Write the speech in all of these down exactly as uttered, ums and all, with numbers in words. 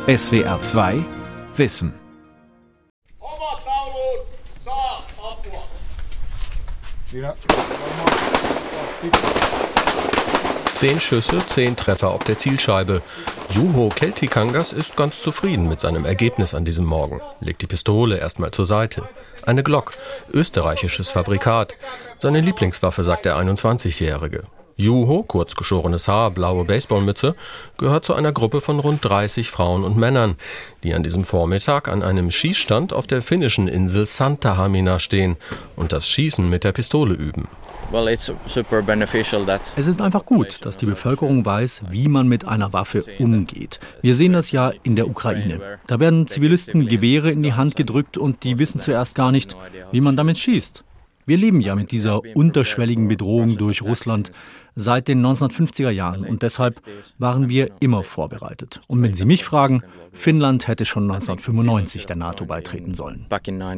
S W R zwei Wissen. Zehn Schüsse, zehn Treffer auf der Zielscheibe. Juho Keltikangas ist ganz zufrieden mit seinem Ergebnis an diesem Morgen. Legt die Pistole erstmal zur Seite. Eine Glock, österreichisches Fabrikat. Seine Lieblingswaffe, sagt der einundzwanzigjährige. Juho, kurz geschorenes Haar, blaue Baseballmütze, gehört zu einer Gruppe von rund dreißig Frauen und Männern, die an diesem Vormittag an einem Schießstand auf der finnischen Insel Santahamina stehen und das Schießen mit der Pistole üben. Es ist einfach gut, dass die Bevölkerung weiß, wie man mit einer Waffe umgeht. Wir sehen das ja in der Ukraine. Da werden Zivilisten Gewehre in die Hand gedrückt und die wissen zuerst gar nicht, wie man damit schießt. Wir leben ja mit dieser unterschwelligen Bedrohung durch Russland seit den neunzehnhundertfünfziger Jahren und deshalb waren wir immer vorbereitet. Und wenn Sie mich fragen, Finnland hätte schon neunzehnhundertfünfundneunzig der NATO beitreten sollen.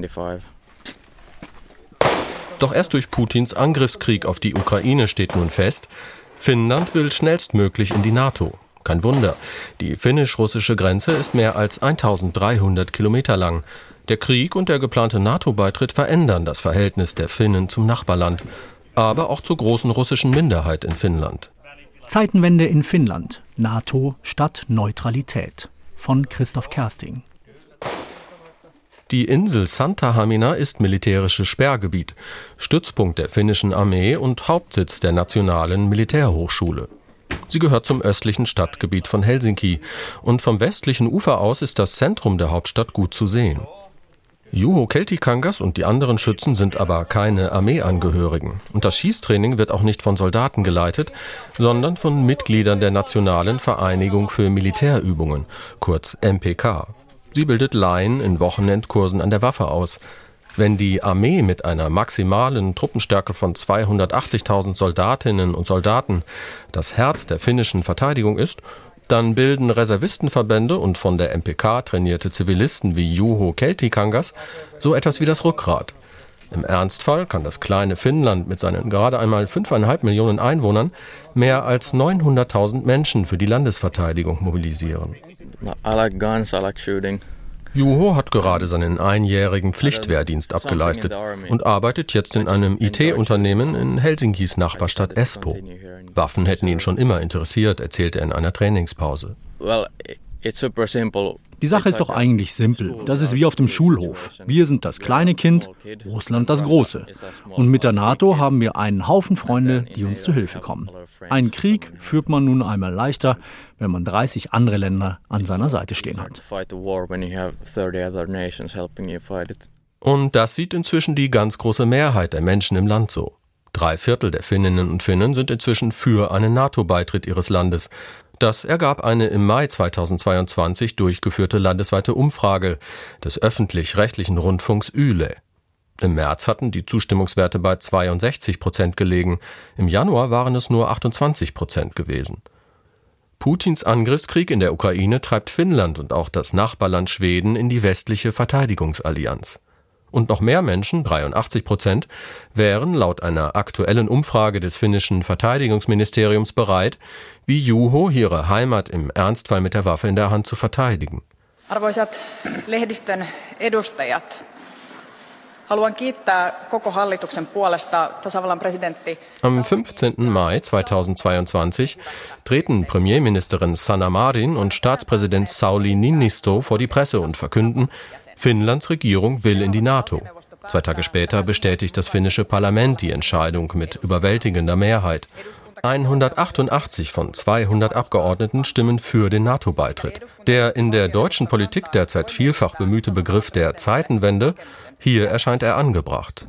Doch erst durch Putins Angriffskrieg auf die Ukraine steht nun fest, Finnland will schnellstmöglich in die NATO. Kein Wunder, die finnisch-russische Grenze ist mehr als eintausenddreihundert Kilometer lang. Der Krieg und der geplante NATO-Beitritt verändern das Verhältnis der Finnen zum Nachbarland, aber auch zur großen russischen Minderheit in Finnland. Zeitenwende in Finnland. NATO statt Neutralität. Von Christoph Kersting. Die Insel Santahamina ist militärisches Sperrgebiet, Stützpunkt der finnischen Armee und Hauptsitz der Nationalen Militärhochschule. Sie gehört zum östlichen Stadtgebiet von Helsinki und vom westlichen Ufer aus ist das Zentrum der Hauptstadt gut zu sehen. Juho Keltikangas und die anderen Schützen sind aber keine Armeeangehörigen. Und das Schießtraining wird auch nicht von Soldaten geleitet, sondern von Mitgliedern der Nationalen Vereinigung für Militärübungen, kurz M P K. Sie bildet Laien in Wochenendkursen an der Waffe aus. Wenn die Armee mit einer maximalen Truppenstärke von zweihundertachtzigtausend Soldatinnen und Soldaten das Herz der finnischen Verteidigung ist, dann bilden Reservistenverbände und von der M P K trainierte Zivilisten wie Juho Keltikangas so etwas wie das Rückgrat. Im Ernstfall kann das kleine Finnland mit seinen gerade einmal fünfeinhalb Millionen Einwohnern mehr als neunhunderttausend Menschen für die Landesverteidigung mobilisieren. I like guns, I like shooting. Juho hat gerade seinen einjährigen Pflichtwehrdienst abgeleistet und arbeitet jetzt in einem I T-Unternehmen in Helsinkis Nachbarstadt Espoo. Waffen hätten ihn schon immer interessiert, erzählte er in einer Trainingspause. Die Sache ist doch eigentlich simpel. Das ist wie auf dem Schulhof. Wir sind das kleine Kind, Russland das große. Und mit der NATO haben wir einen Haufen Freunde, die uns zu Hilfe kommen. Einen Krieg führt man nun einmal leichter, wenn man dreißig andere Länder an seiner Seite stehen hat. Und das sieht inzwischen die ganz große Mehrheit der Menschen im Land so. Drei Viertel der Finninnen und Finnen sind inzwischen für einen NATO-Beitritt ihres Landes. Das ergab eine im Mai zweitausendzweiundzwanzig durchgeführte landesweite Umfrage des öffentlich-rechtlichen Rundfunks Yle. Im März hatten die Zustimmungswerte bei zweiundsechzig Prozent gelegen, im Januar waren es nur achtundzwanzig Prozent gewesen. Putins Angriffskrieg in der Ukraine treibt Finnland und auch das Nachbarland Schweden in die westliche Verteidigungsallianz. Und noch mehr Menschen, dreiundachtzig Prozent, wären laut einer aktuellen Umfrage des finnischen Verteidigungsministeriums bereit, wie Juho ihre Heimat im Ernstfall mit der Waffe in der Hand zu verteidigen. Arvoisat lehdistön edustajat, haluan kiittää koko hallituksen puolesta tasavallan presidentti. Am fünfzehnten Mai zweitausendzweiundzwanzig treten Premierministerin Sanna Marin und Staatspräsident Sauli Niinisto vor die Presse und verkünden, Finnlands Regierung will in die NATO. Zwei Tage später bestätigt das finnische Parlament die Entscheidung mit überwältigender Mehrheit. hundertachtundachtzig von zweihundert Abgeordneten stimmen für den NATO-Beitritt. Der in der deutschen Politik derzeit vielfach bemühte Begriff der Zeitenwende, hier erscheint er angebracht.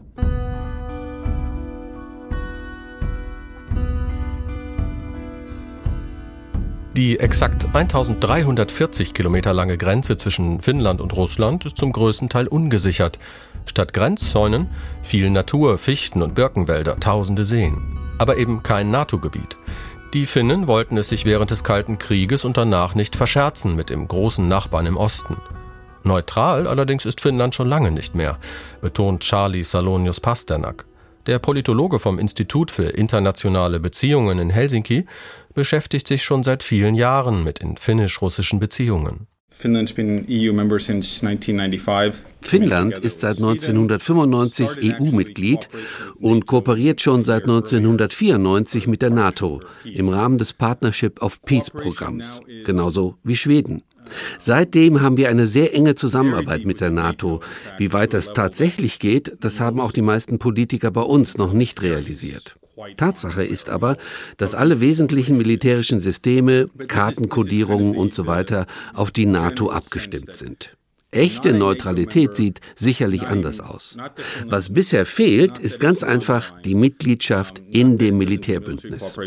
Die exakt eintausenddreihundertvierzig Kilometer lange Grenze zwischen Finnland und Russland ist zum größten Teil ungesichert. Statt Grenzzäunen viel Natur, Fichten und Birkenwälder, tausende Seen. Aber eben kein NATO-Gebiet. Die Finnen wollten es sich während des Kalten Krieges und danach nicht verscherzen mit dem großen Nachbarn im Osten. Neutral allerdings ist Finnland schon lange nicht mehr, betont Charlie Salonius-Pasternak. Der Politologe vom Institut für internationale Beziehungen in Helsinki beschäftigt sich schon seit vielen Jahren mit den finnisch-russischen Beziehungen. Finnland ist seit neunzehnhundertfünfundneunzig E U-Mitglied und kooperiert schon seit neunzehnhundertvierundneunzig mit der NATO im Rahmen des Partnership of Peace-Programms, genauso wie Schweden. Seitdem haben wir eine sehr enge Zusammenarbeit mit der NATO. Wie weit das tatsächlich geht, das haben auch die meisten Politiker bei uns noch nicht realisiert. Tatsache ist aber, dass alle wesentlichen militärischen Systeme, Kartenkodierungen und so weiter auf die NATO abgestimmt sind. Echte Neutralität sieht sicherlich anders aus. Was bisher fehlt, ist ganz einfach die Mitgliedschaft in dem Militärbündnis.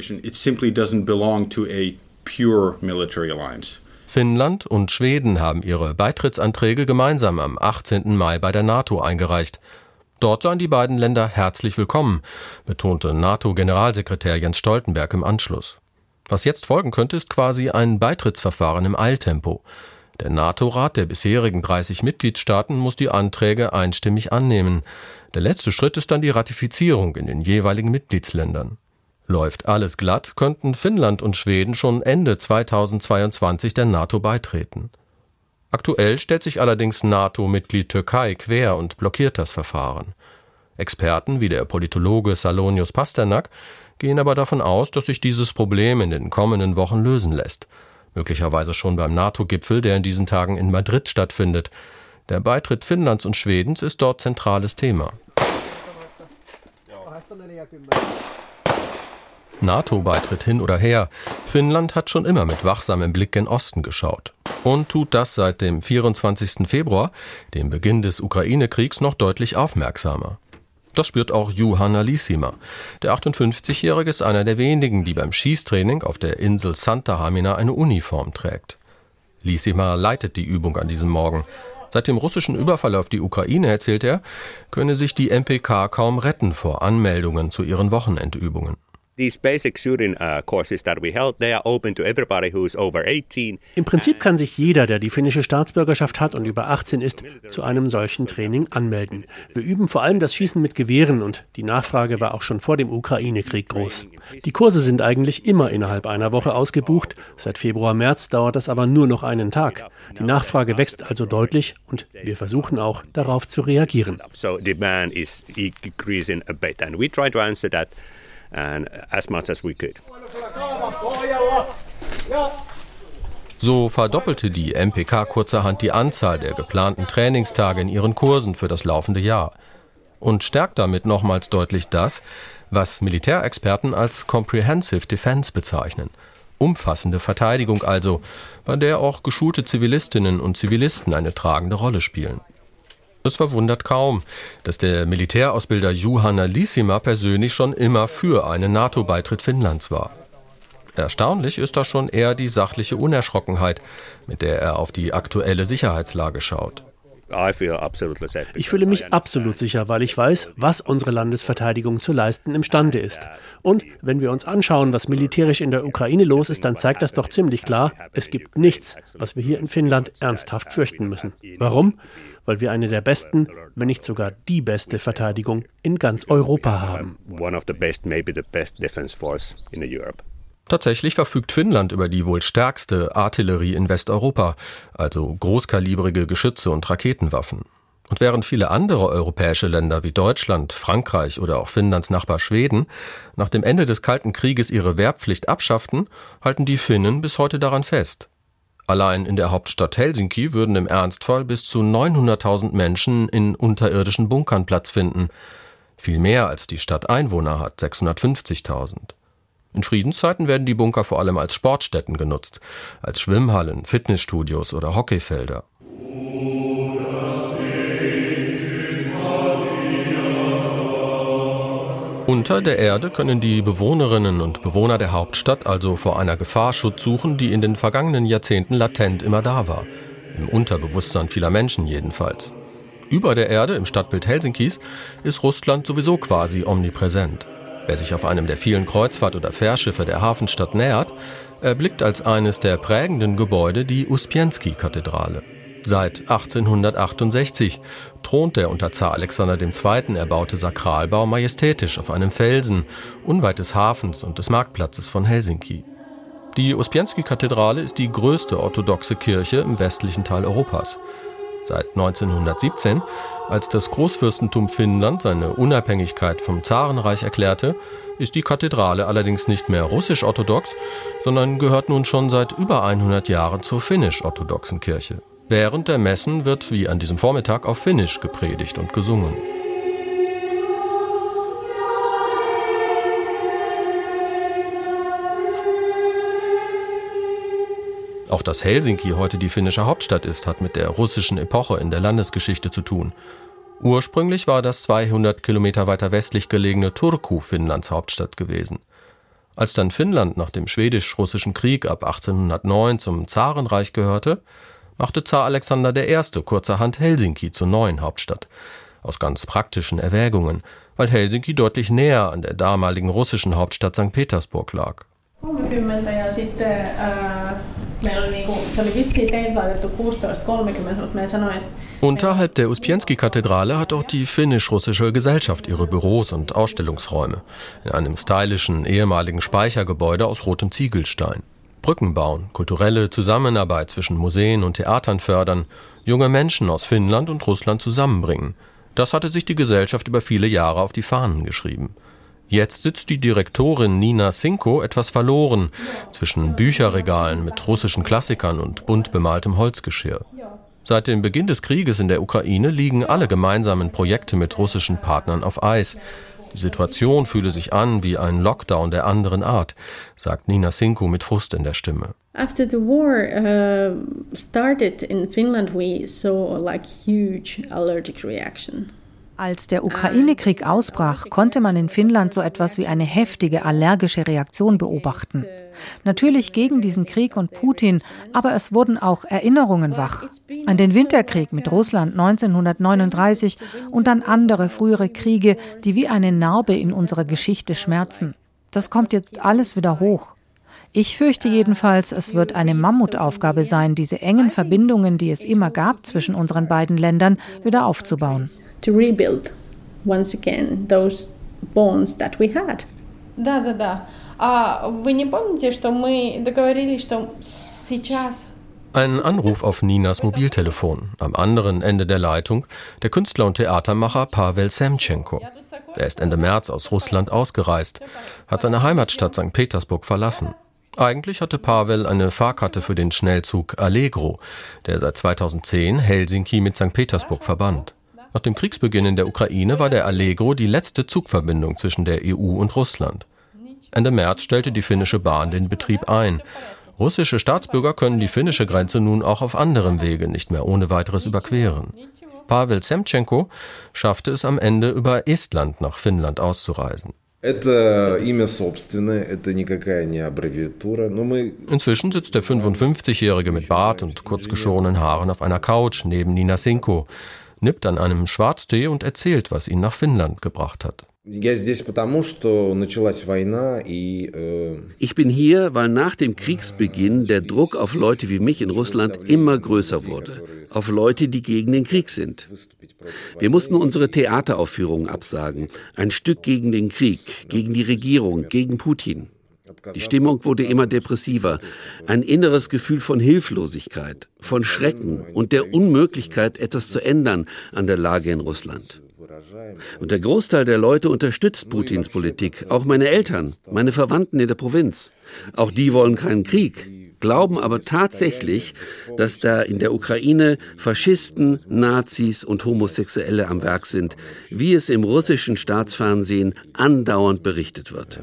Finnland und Schweden haben ihre Beitrittsanträge gemeinsam am achtzehnten Mai bei der NATO eingereicht. Dort seien die beiden Länder herzlich willkommen, betonte NATO-Generalsekretär Jens Stoltenberg im Anschluss. Was jetzt folgen könnte, ist quasi ein Beitrittsverfahren im Eiltempo. Der NATO-Rat der bisherigen dreißig Mitgliedstaaten muss die Anträge einstimmig annehmen. Der letzte Schritt ist dann die Ratifizierung in den jeweiligen Mitgliedsländern. Läuft alles glatt, könnten Finnland und Schweden schon Ende zweitausendzweiundzwanzig der NATO beitreten. Aktuell stellt sich allerdings NATO-Mitglied Türkei quer und blockiert das Verfahren. Experten wie der Politologe Salonius Pasternak gehen aber davon aus, dass sich dieses Problem in den kommenden Wochen lösen lässt. Möglicherweise schon beim NATO-Gipfel, der in diesen Tagen in Madrid stattfindet. Der Beitritt Finnlands und Schwedens ist dort zentrales Thema. NATO-Beitritt hin oder her, Finnland hat schon immer mit wachsamem Blick gen Osten geschaut. Und tut das seit dem vierundzwanzigsten Februar, dem Beginn des Ukraine-Kriegs, noch deutlich aufmerksamer. Das spürt auch Juhana Liissima. Der achtundfünfzigjährige ist einer der wenigen, die beim Schießtraining auf der Insel Santahamina eine Uniform trägt. Liissima leitet die Übung an diesem Morgen. Seit dem russischen Überfall auf die Ukraine, erzählt er, könne sich die M P K kaum retten vor Anmeldungen zu ihren Wochenendübungen. Im Prinzip kann sich jeder, der die finnische Staatsbürgerschaft hat und über achtzehn ist, zu einem solchen Training anmelden. Wir üben vor allem das Schießen mit Gewehren und die Nachfrage war auch schon vor dem Ukraine-Krieg groß. Die Kurse sind eigentlich immer innerhalb einer Woche ausgebucht. Seit Februar, März dauert das aber nur noch einen Tag. Die Nachfrage wächst also deutlich und wir versuchen auch, darauf zu reagieren. And as much as we could. So verdoppelte die M P K kurzerhand die Anzahl der geplanten Trainingstage in ihren Kursen für das laufende Jahr und stärkt damit nochmals deutlich das, was Militärexperten als Comprehensive Defense bezeichnen. Umfassende Verteidigung also, bei der auch geschulte Zivilistinnen und Zivilisten eine tragende Rolle spielen. Es verwundert kaum, dass der Militärausbilder Juhana Liissima persönlich schon immer für einen NATO-Beitritt Finnlands war. Erstaunlich ist da schon eher die sachliche Unerschrockenheit, mit der er auf die aktuelle Sicherheitslage schaut. Ich fühle mich absolut sicher, weil ich weiß, was unsere Landesverteidigung zu leisten imstande ist. Und wenn wir uns anschauen, was militärisch in der Ukraine los ist, dann zeigt das doch ziemlich klar, es gibt nichts, was wir hier in Finnland ernsthaft fürchten müssen. Warum? Weil wir eine der besten, wenn nicht sogar die beste Verteidigung in ganz Europa haben. Tatsächlich verfügt Finnland über die wohl stärkste Artillerie in Westeuropa, also großkalibrige Geschütze und Raketenwaffen. Und während viele andere europäische Länder wie Deutschland, Frankreich oder auch Finnlands Nachbar Schweden nach dem Ende des Kalten Krieges ihre Wehrpflicht abschafften, halten die Finnen bis heute daran fest. Allein in der Hauptstadt Helsinki würden im Ernstfall bis zu neunhunderttausend Menschen in unterirdischen Bunkern Platz finden. Viel mehr als die Stadt Einwohner hat, sechshundertfünfzigtausend. In Friedenszeiten werden die Bunker vor allem als Sportstätten genutzt, als Schwimmhallen, Fitnessstudios oder Hockeyfelder. Unter der Erde können die Bewohnerinnen und Bewohner der Hauptstadt also vor einer Gefahr Schutz suchen, die in den vergangenen Jahrzehnten latent immer da war. Im Unterbewusstsein vieler Menschen jedenfalls. Über der Erde, im Stadtbild Helsinkis, ist Russland sowieso quasi omnipräsent. Wer sich auf einem der vielen Kreuzfahrt- oder Fährschiffe der Hafenstadt nähert, erblickt als eines der prägenden Gebäude die Uspensky-Kathedrale. Seit achtzehnhundertachtundsechzig thront der unter Zar Alexander der Zweite erbaute Sakralbau majestätisch auf einem Felsen, unweit des Hafens und des Marktplatzes von Helsinki. Die Uspensky-Kathedrale ist die größte orthodoxe Kirche im westlichen Teil Europas. Seit neunzehnhundertsiebzehn, als das Großfürstentum Finnland seine Unabhängigkeit vom Zarenreich erklärte, ist die Kathedrale allerdings nicht mehr russisch-orthodox, sondern gehört nun schon seit über hundert Jahren zur finnisch-orthodoxen Kirche. Während der Messen wird wie an diesem Vormittag auf Finnisch gepredigt und gesungen. Auch dass Helsinki heute die finnische Hauptstadt ist, hat mit der russischen Epoche in der Landesgeschichte zu tun. Ursprünglich war das zweihundert Kilometer weiter westlich gelegene Turku Finnlands Hauptstadt gewesen. Als dann Finnland nach dem Schwedisch-Russischen Krieg ab achtzehnhundertneun zum Zarenreich gehörte, machte Zar Alexander der Erste kurzerhand Helsinki zur neuen Hauptstadt. Aus ganz praktischen Erwägungen, weil Helsinki deutlich näher an der damaligen russischen Hauptstadt Sankt Petersburg lag. kolmekümmend ja sitten äh, meillä oli niinku, se oli vissiin teiltä laitettu kuusitoista kolmekymmentä, mutta me sanoin... Unterhalb der Uspensky-Kathedrale hat auch die finnisch-russische Gesellschaft ihre Büros und Ausstellungsräume in einem stylischen ehemaligen Speichergebäude aus rotem Ziegelstein. Brücken bauen, kulturelle Zusammenarbeit zwischen Museen und Theatern fördern, junge Menschen aus Finnland und Russland zusammenbringen. Das hatte sich die Gesellschaft über viele Jahre auf die Fahnen geschrieben. Jetzt sitzt die Direktorin Nina Sinko etwas verloren zwischen Bücherregalen mit russischen Klassikern und bunt bemaltem Holzgeschirr. Seit dem Beginn des Krieges in der Ukraine liegen alle gemeinsamen Projekte mit russischen Partnern auf Eis. Die Situation fühle sich an wie ein Lockdown der anderen Art, sagt Nina Sinko mit Frust in der Stimme. After the war uh, started in Finland, we saw like huge allergic reaction. Als der Ukraine-Krieg ausbrach, konnte man in Finnland so etwas wie eine heftige allergische Reaktion beobachten. Natürlich gegen diesen Krieg und Putin, aber es wurden auch Erinnerungen wach. An den Winterkrieg mit Russland neunzehnhundertneununddreißig und an andere frühere Kriege, die wie eine Narbe in unserer Geschichte schmerzen. Das kommt jetzt alles wieder hoch. Ich fürchte jedenfalls, es wird eine Mammutaufgabe sein, diese engen Verbindungen, die es immer gab zwischen unseren beiden Ländern, wieder aufzubauen. To rebuild once again those bonds that we had. Да, да, да. А вы не помните, что мы договорились, что сейчас... Ein Anruf auf Ninas Mobiltelefon. Am anderen Ende der Leitung der Künstler und Theatermacher Pavel Semtschenko. Er ist Ende März aus Russland ausgereist, hat seine Heimatstadt Sankt Petersburg verlassen. Eigentlich hatte Pavel eine Fahrkarte für den Schnellzug Allegro, der seit zweitausendzehn Helsinki mit Sankt Petersburg verband. Nach dem Kriegsbeginn in der Ukraine war der Allegro die letzte Zugverbindung zwischen der E U und Russland. Ende März stellte die finnische Bahn den Betrieb ein. Russische Staatsbürger können die finnische Grenze nun auch auf anderem Wege nicht mehr ohne weiteres überqueren. Pavel Semtschenko schaffte es am Ende über Estland nach Finnland auszureisen. Inzwischen sitzt der fünfundfünfzigjährige mit Bart und kurzgeschorenen Haaren auf einer Couch neben Nina Sinko, nippt an einem Schwarztee und erzählt, was ihn nach Finnland gebracht hat. Ich bin hier, weil nach dem Kriegsbeginn der Druck auf Leute wie mich in Russland immer größer wurde. Auf Leute, die gegen den Krieg sind. Wir mussten unsere Theateraufführungen absagen. Ein Stück gegen den Krieg, gegen die Regierung, gegen Putin. Die Stimmung wurde immer depressiver. Ein inneres Gefühl von Hilflosigkeit, von Schrecken und der Unmöglichkeit, etwas zu ändern an der Lage in Russland. Und der Großteil der Leute unterstützt Putins Politik, auch meine Eltern, meine Verwandten in der Provinz. Auch die wollen keinen Krieg, glauben aber tatsächlich, dass da in der Ukraine Faschisten, Nazis und Homosexuelle am Werk sind, wie es im russischen Staatsfernsehen andauernd berichtet wird.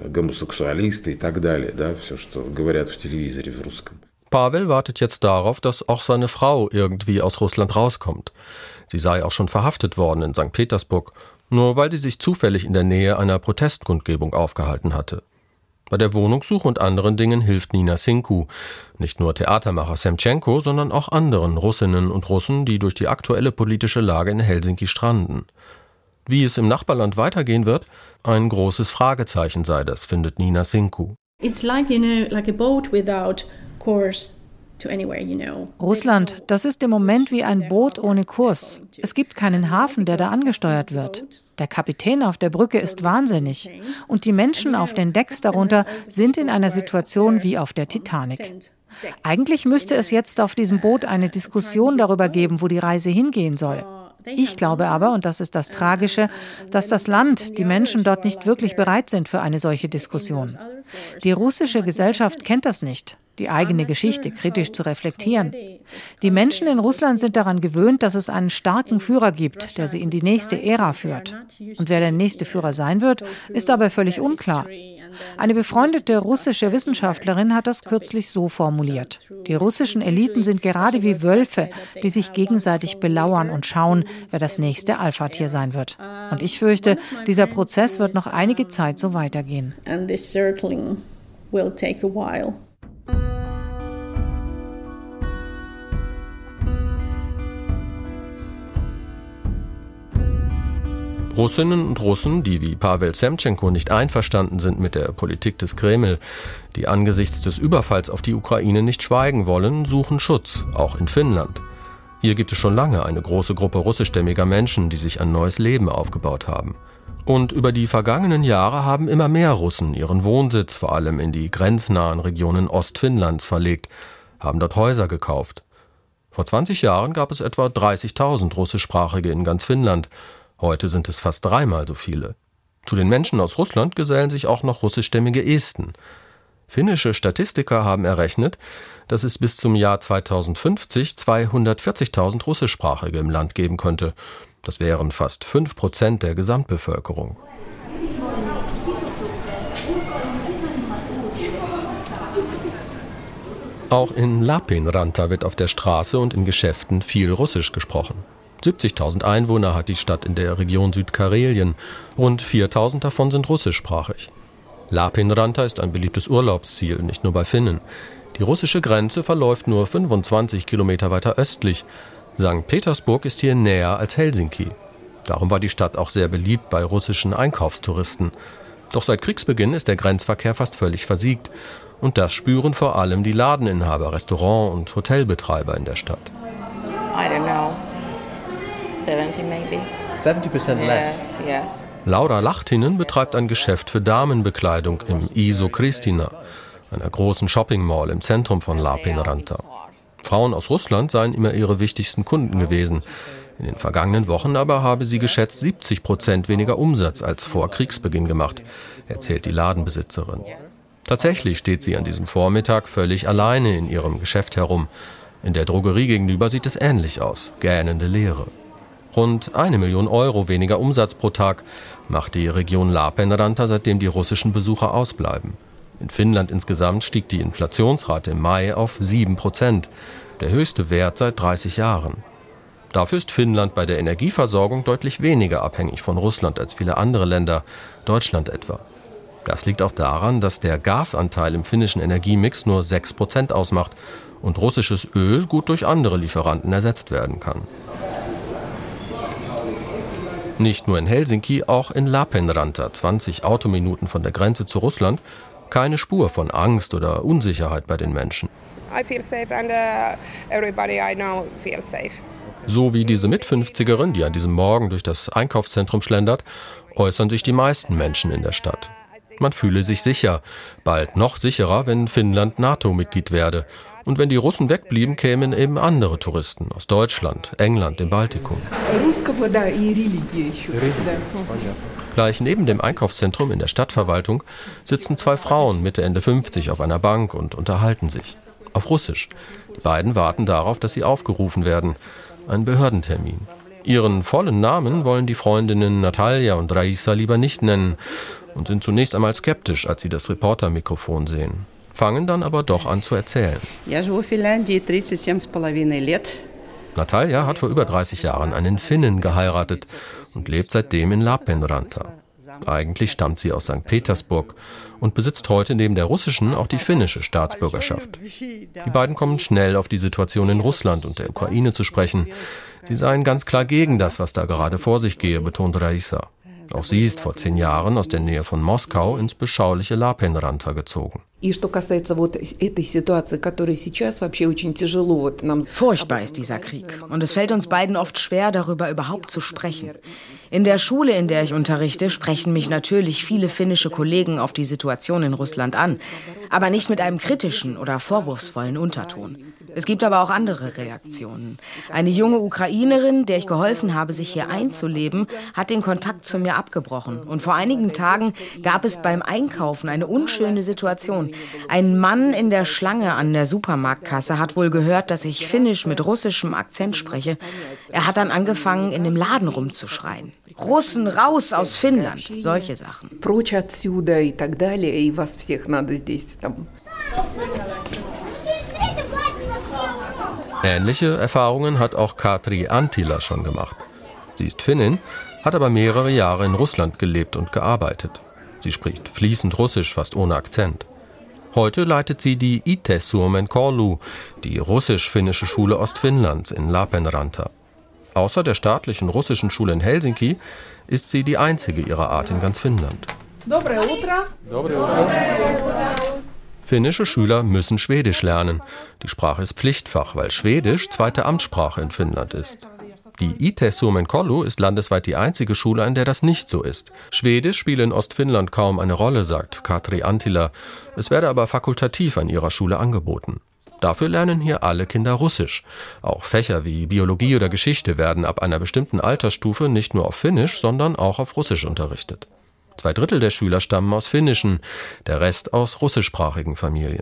Pavel wartet jetzt darauf, dass auch seine Frau irgendwie aus Russland rauskommt. Sie sei auch schon verhaftet worden in Sankt Petersburg, nur weil sie sich zufällig in der Nähe einer Protestkundgebung aufgehalten hatte. Bei der Wohnungssuche und anderen Dingen hilft Nina Sinko, nicht nur Theatermacher Semtschenko, sondern auch anderen Russinnen und Russen, die durch die aktuelle politische Lage in Helsinki stranden. Wie es im Nachbarland weitergehen wird, ein großes Fragezeichen sei das, findet Nina Sinko. It's like, you know, like a boat without course Russland, das ist im Moment wie ein Boot ohne Kurs. Es gibt keinen Hafen, der da angesteuert wird. Der Kapitän auf der Brücke ist wahnsinnig. Und die Menschen auf den Decks darunter sind in einer Situation wie auf der Titanic. Eigentlich müsste es jetzt auf diesem Boot eine Diskussion darüber geben, wo die Reise hingehen soll. Ich glaube aber, und das ist das Tragische, dass das Land, die Menschen dort nicht wirklich bereit sind für eine solche Diskussion. Die russische Gesellschaft kennt das nicht, die eigene Geschichte kritisch zu reflektieren. Die Menschen in Russland sind daran gewöhnt, dass es einen starken Führer gibt, der sie in die nächste Ära führt. Und wer der nächste Führer sein wird, ist dabei völlig unklar. Eine befreundete russische Wissenschaftlerin hat das kürzlich so formuliert. Die russischen Eliten sind gerade wie Wölfe, die sich gegenseitig belauern und schauen, wer das nächste Alpha-Tier sein wird. Und ich fürchte, dieser Prozess wird noch einige Zeit so weitergehen. And this circling will take a while. Russinnen und Russen, die wie Pawel Semtschenko nicht einverstanden sind mit der Politik des Kreml, die angesichts des Überfalls auf die Ukraine nicht schweigen wollen, suchen Schutz, auch in Finnland. Hier gibt es schon lange eine große Gruppe russischstämmiger Menschen, die sich ein neues Leben aufgebaut haben. Und über die vergangenen Jahre haben immer mehr Russen ihren Wohnsitz vor allem in die grenznahen Regionen Ostfinnlands verlegt, haben dort Häuser gekauft. Vor zwanzig Jahren gab es etwa dreißigtausend Russischsprachige in ganz Finnland. Heute sind es fast dreimal so viele. Zu den Menschen aus Russland gesellen sich auch noch russischstämmige Esten. Finnische Statistiker haben errechnet, dass es bis zum Jahr zweitausendfünfzig zweihundertvierzigtausend Russischsprachige im Land geben könnte. Das wären fast fünf Prozent der Gesamtbevölkerung. Auch in Lappeenranta wird auf der Straße und in Geschäften viel Russisch gesprochen. siebzigtausend Einwohner hat die Stadt in der Region Südkarelien. Rund viertausend davon sind russischsprachig. Lappeenranta ist ein beliebtes Urlaubsziel, nicht nur bei Finnen. Die russische Grenze verläuft nur fünfundzwanzig Kilometer weiter östlich. Sankt Petersburg ist hier näher als Helsinki. Darum war die Stadt auch sehr beliebt bei russischen Einkaufstouristen. Doch seit Kriegsbeginn ist der Grenzverkehr fast völlig versiegt. Und das spüren vor allem die Ladeninhaber, Restaurant- und Hotelbetreiber in der Stadt. I don't know. seventy maybe. seventy percent less? Yes, yes. Laura Lahtinen betreibt ein Geschäft für Damenbekleidung im Iso Kristina, einer großen Shopping-Mall im Zentrum von Lappeenranta. Frauen aus Russland seien immer ihre wichtigsten Kunden gewesen. In den vergangenen Wochen aber habe sie geschätzt siebzig Prozent weniger Umsatz als vor Kriegsbeginn gemacht, erzählt die Ladenbesitzerin. Tatsächlich steht sie an diesem Vormittag völlig alleine in ihrem Geschäft herum. In der Drogerie gegenüber sieht es ähnlich aus, gähnende Leere. Rund eine Million Euro weniger Umsatz pro Tag macht die Region Lappeenranta, seitdem die russischen Besucher ausbleiben. In Finnland insgesamt stieg die Inflationsrate im Mai auf sieben Prozent, der höchste Wert seit dreißig Jahren. Dafür ist Finnland bei der Energieversorgung deutlich weniger abhängig von Russland als viele andere Länder, Deutschland etwa. Das liegt auch daran, dass der Gasanteil im finnischen Energiemix nur sechs Prozent ausmacht und russisches Öl gut durch andere Lieferanten ersetzt werden kann. Nicht nur in Helsinki, auch in Lappeenranta, zwanzig Autominuten von der Grenze zu Russland, keine Spur von Angst oder Unsicherheit bei den Menschen. I feel safe and uh, everybody I know feels safe. So wie diese Mitfünfzigerin, die an diesem Morgen durch das Einkaufszentrum schlendert, äußern sich die meisten Menschen in der Stadt. Man fühle sich sicher, bald noch sicherer, wenn Finnland NATO-Mitglied werde. Und wenn die Russen wegblieben, kämen eben andere Touristen aus Deutschland, England, dem Baltikum. Gleich neben dem Einkaufszentrum in der Stadtverwaltung sitzen zwei Frauen Mitte, Ende fünfzig auf einer Bank und unterhalten sich. Auf Russisch. Die beiden warten darauf, dass sie aufgerufen werden. Ein Behördentermin. Ihren vollen Namen wollen die Freundinnen Natalia und Raisa lieber nicht nennen und sind zunächst einmal skeptisch, als sie das Reportermikrofon sehen. Fangen dann aber doch an zu erzählen. Natalia hat vor über dreißig Jahren einen Finnen geheiratet und lebt seitdem in Lappeenranta. Eigentlich stammt sie aus Sankt Petersburg und besitzt heute neben der russischen auch die finnische Staatsbürgerschaft. Die beiden kommen schnell auf die Situation in Russland und der Ukraine zu sprechen. Sie seien ganz klar gegen das, was da gerade vor sich gehe, betont Raisa. Auch sie ist vor zehn Jahren aus der Nähe von Moskau ins beschauliche Lapenranta gezogen. Furchtbar ist dieser Krieg. Und es fällt uns beiden oft schwer, darüber überhaupt zu sprechen. In der Schule, in der ich unterrichte, sprechen mich natürlich viele finnische Kollegen auf die Situation in Russland an, aber nicht mit einem kritischen oder vorwurfsvollen Unterton. Es gibt aber auch andere Reaktionen. Eine junge Ukrainerin, der ich geholfen habe, sich hier einzuleben, hat den Kontakt zu mir abgebrochen. Und vor einigen Tagen gab es beim Einkaufen eine unschöne Situation. Ein Mann in der Schlange an der Supermarktkasse hat wohl gehört, dass ich Finnisch mit russischem Akzent spreche. Er hat dann angefangen, in dem Laden rumzuschreien. Russen raus aus Finnland, solche Sachen. Ähnliche Erfahrungen hat auch Katri Antila schon gemacht. Sie ist Finnin, hat aber mehrere Jahre in Russland gelebt und gearbeitet. Sie spricht fließend Russisch, fast ohne Akzent. Heute leitet sie die Itä-Suomen Koulu, die russisch-finnische Schule Ostfinnlands in Lapenranta. Außer der staatlichen russischen Schule in Helsinki ist sie die einzige ihrer Art in ganz Finnland. Dobre Utra. Dobre Utra. Finnische Schüler müssen Schwedisch lernen. Die Sprache ist Pflichtfach, weil Schwedisch zweite Amtssprache in Finnland ist. Die Itä-Suomen Koulu ist landesweit die einzige Schule, an der das nicht so ist. Schwedisch spiele in Ostfinnland kaum eine Rolle, sagt Katri Antila. Es werde aber fakultativ an ihrer Schule angeboten. Dafür lernen hier alle Kinder Russisch. Auch Fächer wie Biologie oder Geschichte werden ab einer bestimmten Altersstufe nicht nur auf Finnisch, sondern auch auf Russisch unterrichtet. Zwei Drittel der Schüler stammen aus finnischen, der Rest aus russischsprachigen Familien.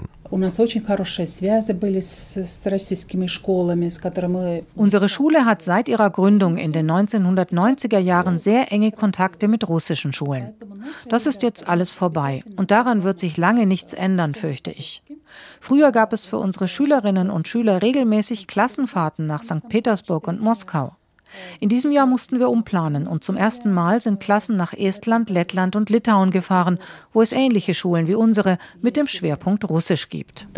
Unsere Schule hat seit ihrer Gründung in den neunzehnhundertneunziger Jahren sehr enge Kontakte mit russischen Schulen. Das ist jetzt alles vorbei und daran wird sich lange nichts ändern, fürchte ich. Früher gab es für unsere Schülerinnen und Schüler regelmäßig Klassenfahrten nach Sankt Petersburg und Moskau. In diesem Jahr mussten wir umplanen und zum ersten Mal sind Klassen nach Estland, Lettland und Litauen gefahren, wo es ähnliche Schulen wie unsere mit dem Schwerpunkt Russisch gibt.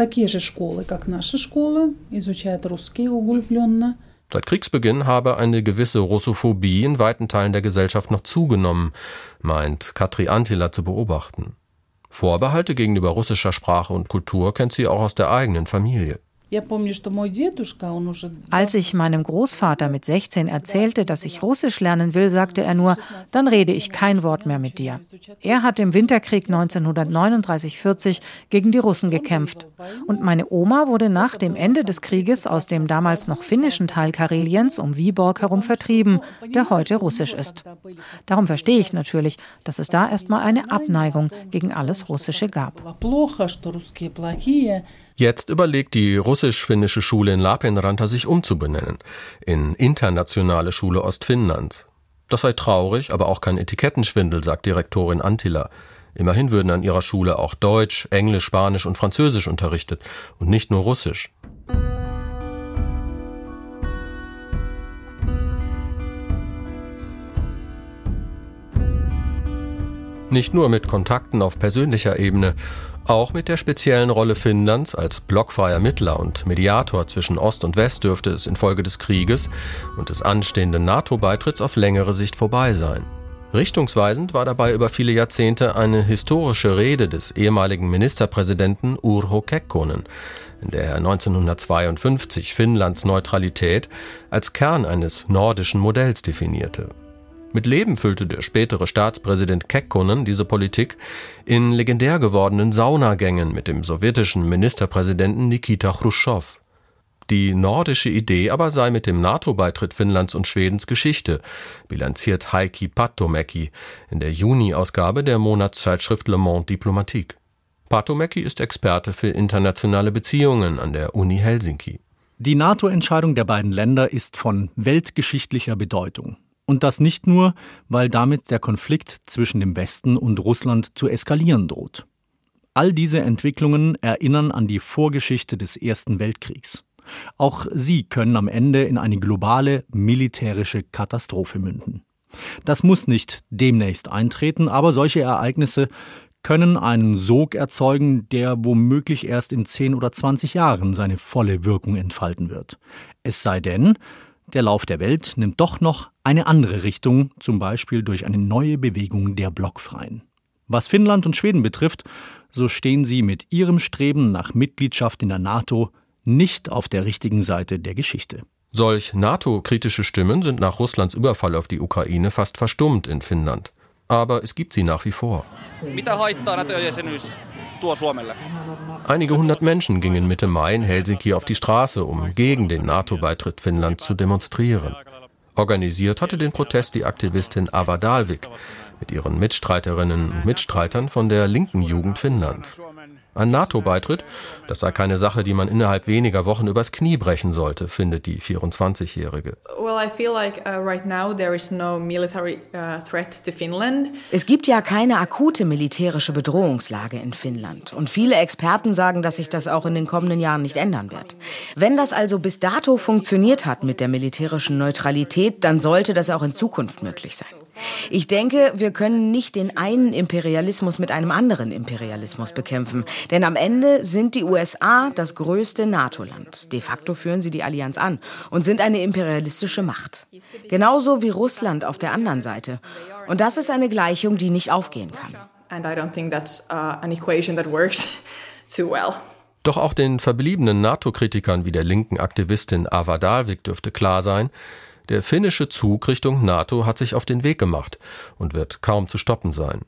Seit Kriegsbeginn habe eine gewisse Russophobie in weiten Teilen der Gesellschaft noch zugenommen, meint Katri Antila zu beobachten. Vorbehalte gegenüber russischer Sprache und Kultur kennt sie auch aus der eigenen Familie. Als ich meinem Großvater mit sechzehn erzählte, dass ich Russisch lernen will, sagte er nur, dann rede ich kein Wort mehr mit dir. Er hat im Winterkrieg neunzehnhundertneununddreißig vierzig gegen die Russen gekämpft. Und meine Oma wurde nach dem Ende des Krieges aus dem damals noch finnischen Teil Kareliens um Viborg herum vertrieben, der heute russisch ist. Darum verstehe ich natürlich, dass es da erstmal eine Abneigung gegen alles Russische gab. Jetzt überlegt die russisch-finnische Schule in Lapenranta sich umzubenennen in Internationale Schule Ostfinnlands. Das sei traurig, aber auch kein Etikettenschwindel, sagt Direktorin Antila. Immerhin würden an ihrer Schule auch Deutsch, Englisch, Spanisch und Französisch unterrichtet und nicht nur Russisch. Nicht nur mit Kontakten auf persönlicher Ebene, auch mit der speziellen Rolle Finnlands als blockfreier Mittler und Mediator zwischen Ost und West dürfte es infolge des Krieges und des anstehenden NATO-Beitritts auf längere Sicht vorbei sein. Richtungsweisend war dabei über viele Jahrzehnte eine historische Rede des ehemaligen Ministerpräsidenten Urho Kekkonen, in der er neunzehnhundertzweiundfünfzig Finnlands Neutralität als Kern eines nordischen Modells definierte. Mit Leben füllte der spätere Staatspräsident Kekkonen diese Politik in legendär gewordenen Saunagängen mit dem sowjetischen Ministerpräsidenten Nikita Chruschtschow. Die nordische Idee aber sei mit dem NATO-Beitritt Finnlands und Schwedens Geschichte, bilanziert Heikki Patomäki in der Juni-Ausgabe der Monatszeitschrift Le Monde Diplomatique. Patomäki ist Experte für internationale Beziehungen an der Uni Helsinki. Die NATO-Entscheidung der beiden Länder ist von weltgeschichtlicher Bedeutung. Und das nicht nur, weil damit der Konflikt zwischen dem Westen und Russland zu eskalieren droht. All diese Entwicklungen erinnern an die Vorgeschichte des Ersten Weltkriegs. Auch sie können am Ende in eine globale militärische Katastrophe münden. Das muss nicht demnächst eintreten, aber solche Ereignisse können einen Sog erzeugen, der womöglich erst in zehn oder zwanzig Jahren seine volle Wirkung entfalten wird. Es sei denn, der Lauf der Welt nimmt doch noch eine andere Richtung, zum Beispiel durch eine neue Bewegung der Blockfreien. Was Finnland und Schweden betrifft, so stehen sie mit ihrem Streben nach Mitgliedschaft in der NATO nicht auf der richtigen Seite der Geschichte. Solch NATO-kritische Stimmen sind nach Russlands Überfall auf die Ukraine fast verstummt in Finnland. Aber es gibt sie nach wie vor. Einige hundert Menschen gingen Mitte Mai in Helsinki auf die Straße, um gegen den NATO-Beitritt Finnlands zu demonstrieren. Organisiert hatte den Protest die Aktivistin Ava Dalvik mit ihren Mitstreiterinnen und Mitstreitern von der linken Jugend Finnlands. Ein NATO-Beitritt, das sei keine Sache, die man innerhalb weniger Wochen übers Knie brechen sollte, findet die vierundzwanzigjährige. Es gibt ja keine akute militärische Bedrohungslage in Finnland. Und viele Experten sagen, dass sich das auch in den kommenden Jahren nicht ändern wird. Wenn das also bis dato funktioniert hat mit der militärischen Neutralität, dann sollte das auch in Zukunft möglich sein. Ich denke, wir können nicht den einen Imperialismus mit einem anderen Imperialismus bekämpfen. Denn am Ende sind die U S A das größte NATO-Land. De facto führen sie die Allianz an und sind eine imperialistische Macht. Genauso wie Russland auf der anderen Seite. Und das ist eine Gleichung, die nicht aufgehen kann. And I don't think that's uh, an equation that works too well. Doch auch den verbliebenen NATO-Kritikern wie der linken Aktivistin Ava Dalvik dürfte klar sein, der finnische Zug Richtung NATO hat sich auf den Weg gemacht und wird kaum zu stoppen sein.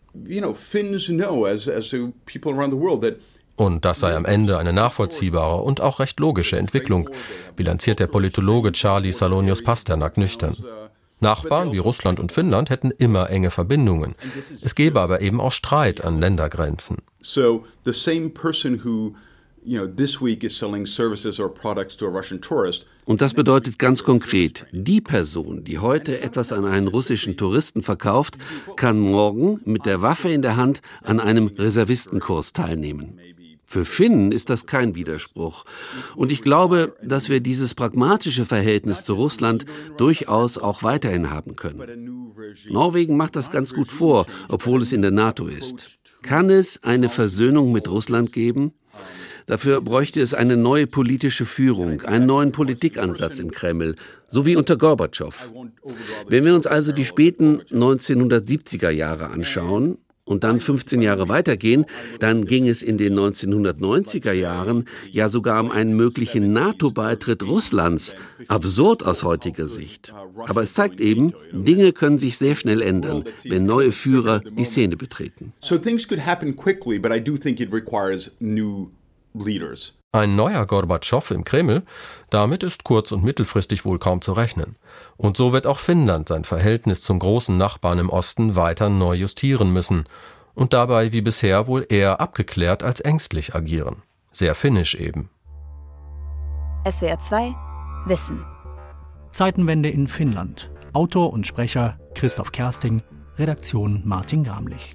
Und das sei am Ende eine nachvollziehbare und auch recht logische Entwicklung, bilanziert der Politologe Charlie Salonius-Pasternak nüchtern. Nachbarn wie Russland und Finnland hätten immer enge Verbindungen. Es gäbe aber eben auch Streit an Ländergrenzen. So the same person who You know, this week is selling services or products to a Russian tourist. Und das bedeutet ganz konkret, die Person, die heute etwas an einen russischen Touristen verkauft, kann morgen mit der Waffe in der Hand an einem Reservistenkurs teilnehmen. Für Finnen ist das kein Widerspruch. Und ich glaube, dass wir dieses pragmatische Verhältnis zu Russland durchaus auch weiterhin haben können. Norwegen macht das ganz gut vor, obwohl es in der NATO ist. Kann es eine Versöhnung mit Russland geben? Dafür bräuchte es eine neue politische Führung, einen neuen Politikansatz im Kreml, so wie unter Gorbatschow. Wenn wir uns also die späten neunzehnhundertsiebziger Jahre anschauen und dann fünfzehn Jahre weitergehen, dann ging es in den neunzehnhundertneunziger Jahren ja sogar um einen möglichen NATO-Beitritt Russlands. Absurd aus heutiger Sicht. Aber es zeigt eben, Dinge können sich sehr schnell ändern, wenn neue Führer die Szene betreten. So things could happen quickly, but I do think it requires new leaders. Ein neuer Gorbatschow im Kreml, damit ist kurz- und mittelfristig wohl kaum zu rechnen. Und so wird auch Finnland sein Verhältnis zum großen Nachbarn im Osten weiter neu justieren müssen und dabei wie bisher wohl eher abgeklärt als ängstlich agieren. Sehr finnisch eben. S W R zwei Wissen. Zeitenwende in Finnland. Autor und Sprecher Christoph Kersting, Redaktion Martin Gramlich.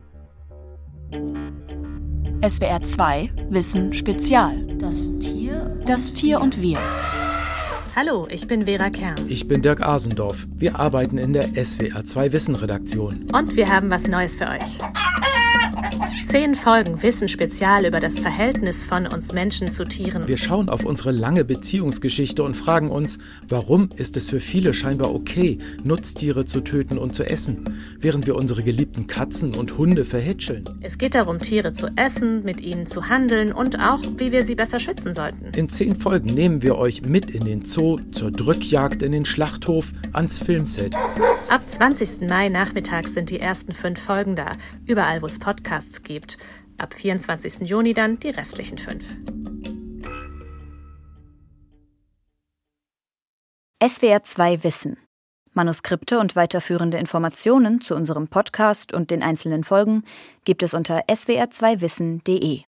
S W R zwei Wissen Spezial. Das Tier, das Tier und wir. Hallo, ich bin Vera Kern. Ich bin Dirk Asendorf. Wir arbeiten in der S W R zwei Wissen Redaktion. Und wir haben was Neues für euch. Zehn Folgen Wissen Spezial über das Verhältnis von uns Menschen zu Tieren. Wir schauen auf unsere lange Beziehungsgeschichte und fragen uns, warum ist es für viele scheinbar okay, Nutztiere zu töten und zu essen, während wir unsere geliebten Katzen und Hunde verhätscheln. Es geht darum, Tiere zu essen, mit ihnen zu handeln und auch, wie wir sie besser schützen sollten. In zehn Folgen nehmen wir euch mit in den Zoo, zur Drückjagd in den Schlachthof, ans Filmset. Ab zwanzigsten Mai nachmittags sind die ersten fünf Folgen da, überall wo es Podcasts gibt. Ab vierundzwanzigsten Juni dann die restlichen fünf. S W R zwei Wissen. Manuskripte und weiterführende Informationen zu unserem Podcast und den einzelnen Folgen gibt es unter s w r zwei wissen punkt d e.